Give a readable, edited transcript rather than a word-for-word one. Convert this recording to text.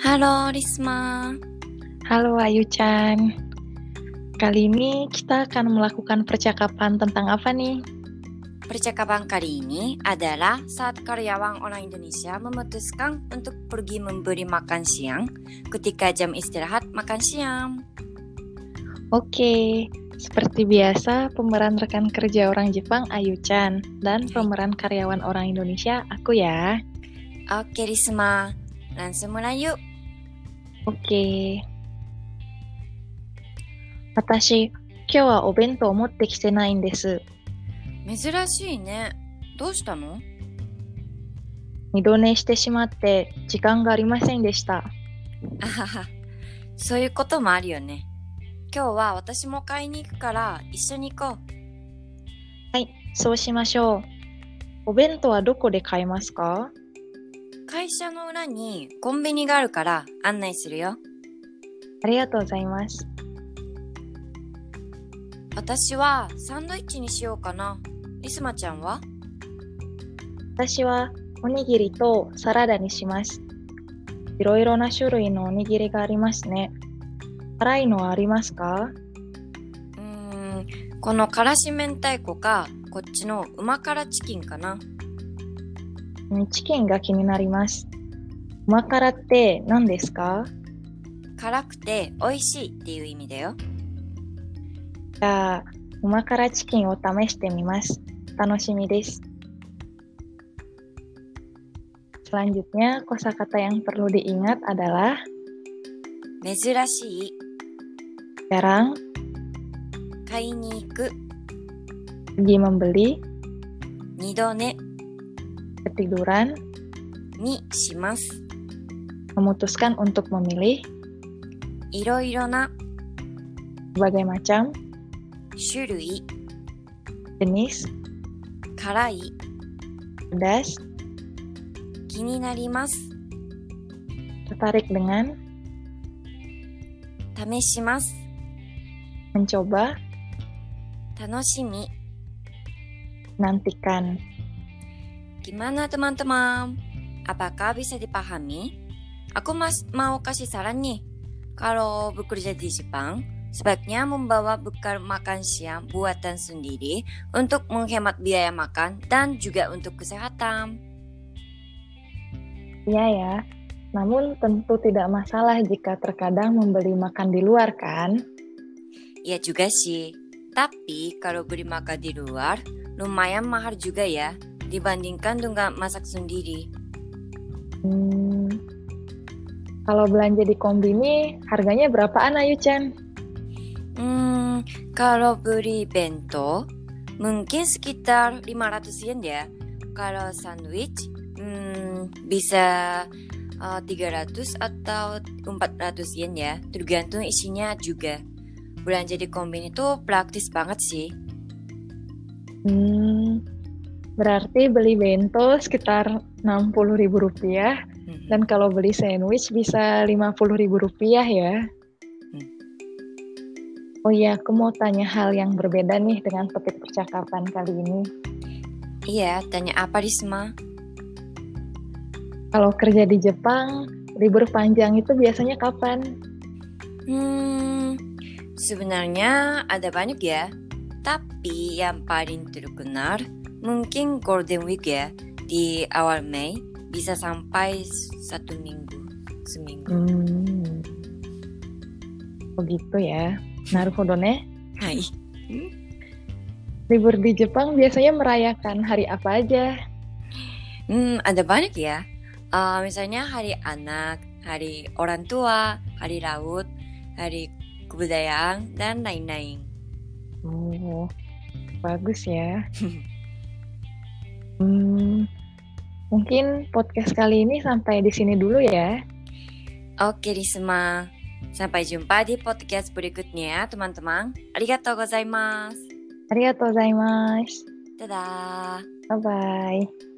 Halo Risma. Halo Ayu-chan, kali ini kita akan melakukan percakapan tentang apa nih? Percakapan kali ini adalah saat karyawan orang Indonesia memutuskan untuk pergi memberi makan siang ketika jam istirahat makan siang. Oke, seperti biasa pemeran rekan kerja orang Jepang Ayu-chan dan pemeran karyawan orang Indonesia aku ya. Oke Risma, langsung mulai yuk. Oke. 私、今日はお弁当を持ってきてないんです。 珍しいね。どうしたの？ 二度寝してしまって時間がありませんでした。 あはは、そういうこともあるよね。今日は私も買いに行くから一緒に行こう。 はい、そうしましょう。お弁当はどこで買えますか？ 会社の裏にコンビニがあるから案内するよ。 ありがとうございます。 私はサンドイッチにしようかな。リスマちゃんは？ 私はおにぎりとサラダにします。いろいろな種類のおにぎりがありますね。辛いのはありますか？ このからし明太子か、こっちの旨辛チキンかな。 チキンが気になります。旨辛って何ですか？ 辛くて美味しいっていう意味だよ。 じゃあ、旨辛チキンを試してみます。楽しみです。Selanjutnya, kosakata yang perlu diingat adalah 珍しい、 jarang, 買いに行く、 pergi membeli, 二度寝 ketiduran, にします。 memutuskan untuk memilih, いろいろな berbagai macam, 種類、 jenis, 辛い、 pedas, 気になります。 tertarik dengan, 試します。 mencoba, 楽しみ。 nantikan. Gimana teman-teman? Apakah bisa dipahami? Aku mau kasih saran nih. Kalau bekerja di Jepang, sebaiknya membawa bekal makan siang buatan sendiri untuk menghemat biaya makan dan juga untuk kesehatan. Iya ya, namun tentu tidak masalah jika terkadang membeli makan di luar kan? Iya juga sih. Tapi kalau beli makan di luar, lumayan mahal juga ya, dibandingkan dengan masak sendiri. Kalau belanja di kombini, harganya berapaan Ayu-chan? Kalau beli bento, mungkin sekitar 500 yen ya. Kalau sandwich, bisa 300 atau 400 yen ya. Tergantung isinya juga. Belanja di kombini itu praktis banget sih. Berarti beli bento sekitar 60.000 rupiah. Dan kalau beli sandwich bisa 50.000 rupiah ya. Oh iya, aku mau tanya hal yang berbeda nih dengan topik percakapan kali ini. Iya, tanya apa Risma? Kalau kerja di Jepang, libur panjang itu biasanya kapan? Sebenarnya ada banyak ya. Tapi yang paling terkenal mungkin Golden Week ya. Di awal Mei bisa sampai 1 minggu, seminggu. Begitu ya. Naruhodo ne. Hai. Libur di Jepang biasanya merayakan hari apa aja? Ada banyak ya. Misalnya hari anak, hari orang tua, hari laut, hari kebudayaan, dan lain-lain. Oh, bagus ya. Mungkin podcast kali ini sampai di sini dulu ya. Oke, Risma. Sampai jumpa di podcast berikutnya, teman-teman. Arigatou gozaimasu. Arigatou gozaimasu. Dadah. Bye-bye.